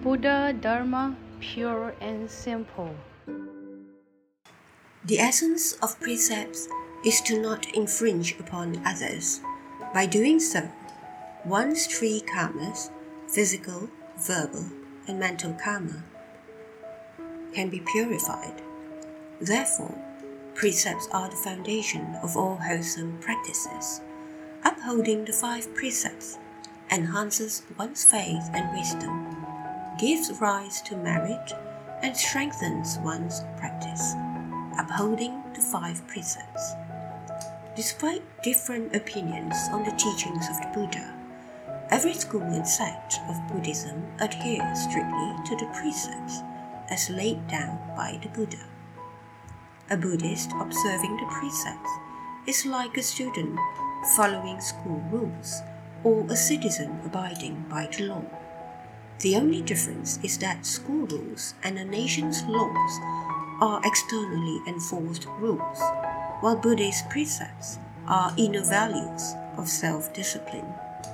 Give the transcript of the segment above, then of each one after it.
Buddha Dharma, pure and simple. The essence of precepts is to not infringe upon others. By doing so, one's three karmas, physical, verbal, and mental karma, can be purified. Therefore, precepts are the foundation of all wholesome practices. Upholding the 5 precepts enhances one's faith and wisdom, gives rise to merit, and strengthens one's practice. Upholding the 5 precepts. Despite different opinions on the teachings of the Buddha, every school and sect of Buddhism adheres strictly to the precepts as laid down by the Buddha. A Buddhist observing the precepts is like a student following school rules or a citizen abiding by the law. The only difference is that school rules and a nation's laws are externally enforced rules, while Buddhist precepts are inner values of self-discipline.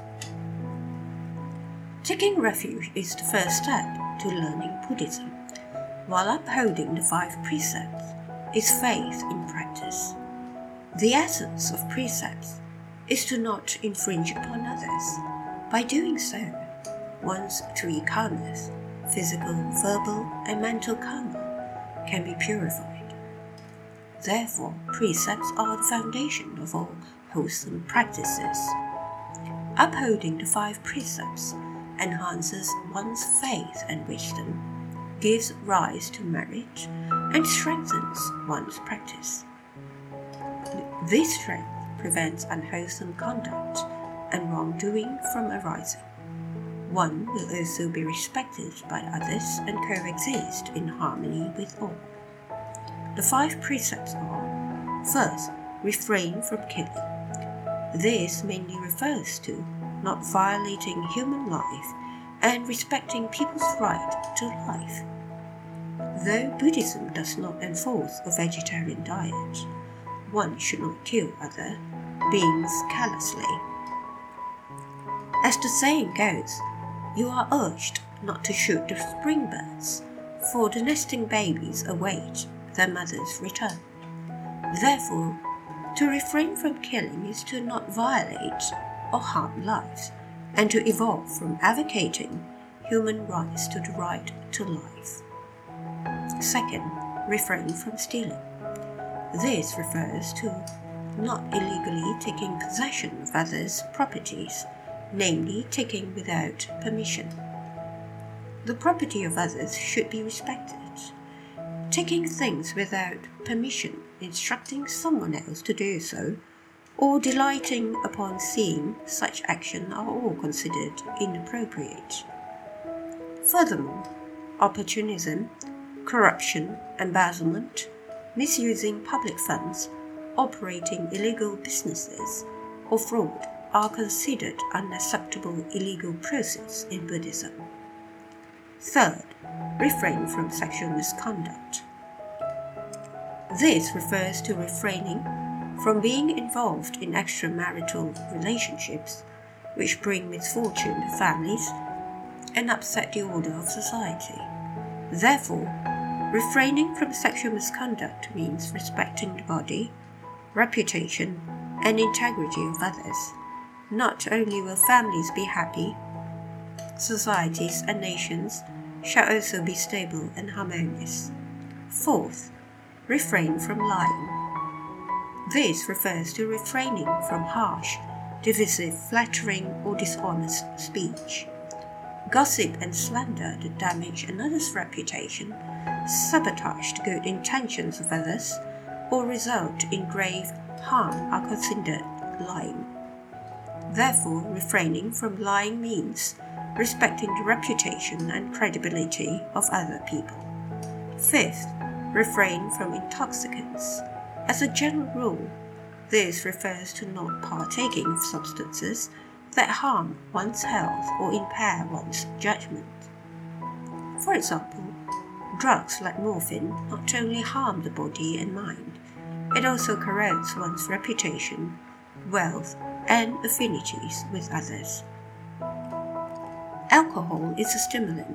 Taking refuge is the first step to learning Buddhism, while upholding the 5 precepts is faith in practice. The essence of precepts is to not infringe upon others. By doing so, one's 3 karmas, physical, verbal, and mental karma, can be purified. Therefore, precepts are the foundation of all wholesome practices. Upholding the 5 precepts enhances one's faith and wisdom, gives rise to merit, and strengthens one's practice. This strength prevents unwholesome conduct and wrongdoing from arising. One will also be respected by others and coexist in harmony with all. The 5 precepts are: first, refrain from killing. This mainly refers to not violating human life and respecting people's right to life. Though Buddhism does not enforce a vegetarian diet, one should not kill other beings callously. As the saying goes, you are urged not to shoot the spring birds, for the nesting babies await their mother's return. Therefore, to refrain from killing is to not violate or harm lives, and to evolve from advocating human rights to the right to life. Second, refrain from stealing. This refers to not illegally taking possession of others' properties, namely taking without permission. The property of others should be respected. Taking things without permission, instructing someone else to do so, or delighting upon seeing such action are all considered inappropriate. Furthermore, opportunism, corruption, embezzlement, misusing public funds, operating illegal businesses, or fraud are considered unacceptable illegal processes in Buddhism. Third, refrain from sexual misconduct. This refers to refraining from being involved in extramarital relationships which bring misfortune to families and upset the order of society. Therefore, refraining from sexual misconduct means respecting the body, reputation, and integrity of others. Not only will families be happy, societies and nations shall also be stable and harmonious. Fourth, refrain from lying. This refers to refraining from harsh, divisive, flattering, or dishonest speech. Gossip and slander that damage another's reputation, sabotage the good intentions of others, or result in grave harm are considered lying. Therefore, refraining from lying means respecting the reputation and credibility of other people. Fifth, refrain from intoxicants. As a general rule, this refers to not partaking of substances that harm one's health or impair one's judgment. For example, drugs like morphine not only harm the body and mind, it also corrodes one's reputation, wealth, and affinities with others. Alcohol is a stimulant,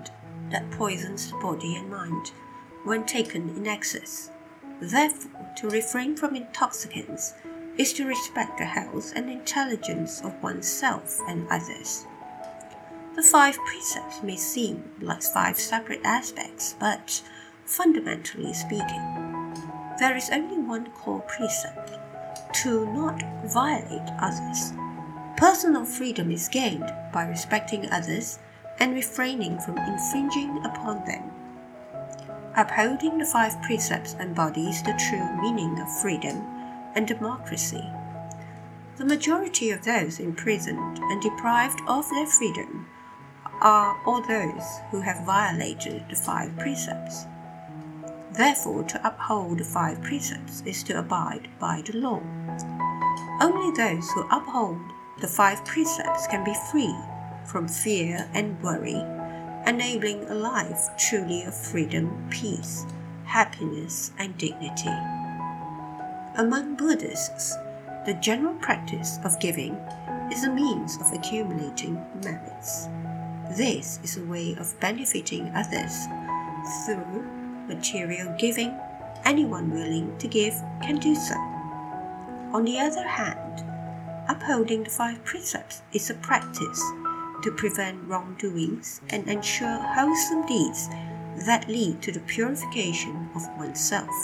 that poisons the body and mind when taken in excess. Therefore, to refrain from intoxicants is to respect the health and intelligence of oneself and others. The 5 precepts may seem like 5 separate aspects, but fundamentally speaking, there is only one core precept: to not violate others. Personal freedom is gained by respecting others and refraining from infringing upon them. Upholding the 5 precepts embodies the true meaning of freedom and democracy. The majority of those imprisoned and deprived of their freedom are all those who have violated the 5 precepts. Therefore, to uphold the 5 precepts is to abide by the law. Only those who uphold the 5 precepts can be free from fear and worry, enabling a life truly of freedom, peace, happiness, and dignity. Among Buddhists, the general practice of giving is a means of accumulating merits. This is a way of benefiting others through material giving. Anyone willing to give can do so. On the other hand, upholding the 5 precepts is a practice to prevent wrongdoings and ensure wholesome deeds that lead to the purification of oneself.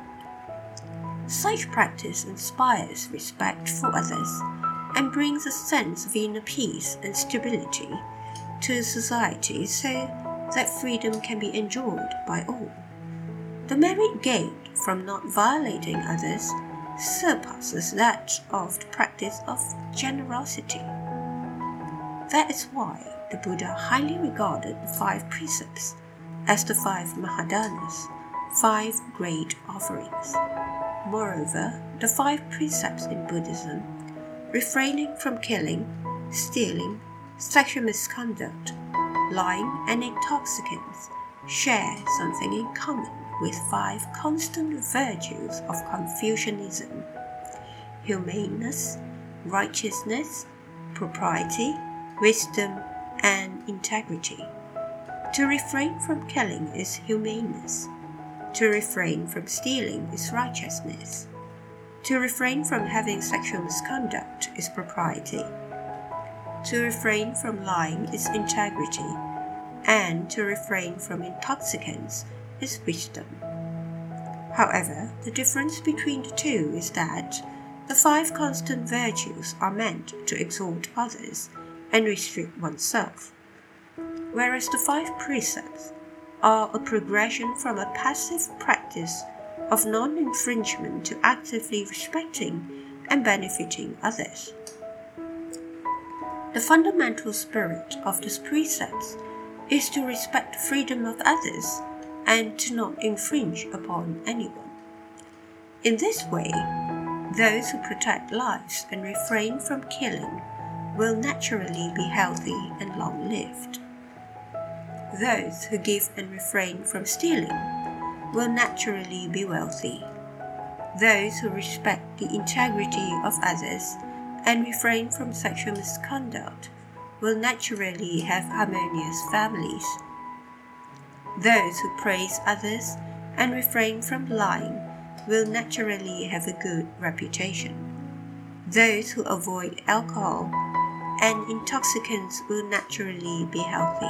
Such practice inspires respect for others and brings a sense of inner peace and stability to society so that freedom can be enjoyed by all. The merit gained from not violating others surpasses that of the practice of generosity. That is why the Buddha highly regarded the 5 precepts as the 5 Mahadanas, 5 great offerings. Moreover, the 5 precepts in Buddhism, refraining from killing, stealing, sexual misconduct, lying, and intoxicants, share something in common with 5 constant virtues of Confucianism: humaneness, righteousness, propriety, wisdom, and integrity. To refrain from killing is humaneness. To refrain from stealing is righteousness. To refrain from having sexual misconduct is propriety. To refrain from lying is integrity. And to refrain from intoxicants is wisdom. However, the difference between the two is that the 5 constant virtues are meant to exalt others and restrict oneself, whereas the 5 precepts are a progression from a passive practice of non-infringement to actively respecting and benefiting others. The fundamental spirit of these precepts is to respect the freedom of others and to not infringe upon anyone. In this way, those who protect lives and refrain from killing will naturally be healthy and long-lived. Those who give and refrain from stealing will naturally be wealthy. Those who respect the integrity of others and refrain from sexual misconduct will naturally have harmonious families. Those who praise others and refrain from lying will naturally have a good reputation. Those who avoid alcohol and intoxicants will naturally be healthy.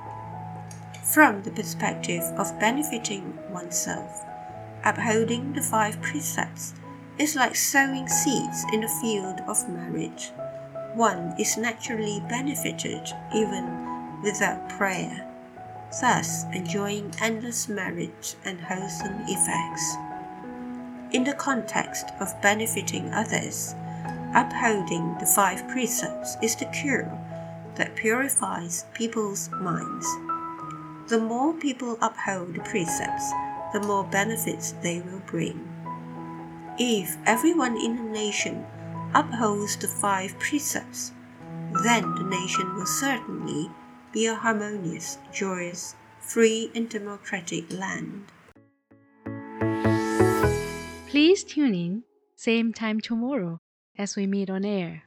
From the perspective of benefiting oneself, upholding the 5 precepts is like sowing seeds in the field of merit. One is naturally benefited even without prayer, thus enjoying endless merit and wholesome effects. In the context of benefiting others, upholding the 5 precepts is the cure that purifies people's minds. The more people uphold the precepts, the more benefits they will bring. If everyone in a nation upholds the 5 precepts, then the nation will certainly be a harmonious, joyous, free and democratic land. Please tune in, same time tomorrow as we meet on air.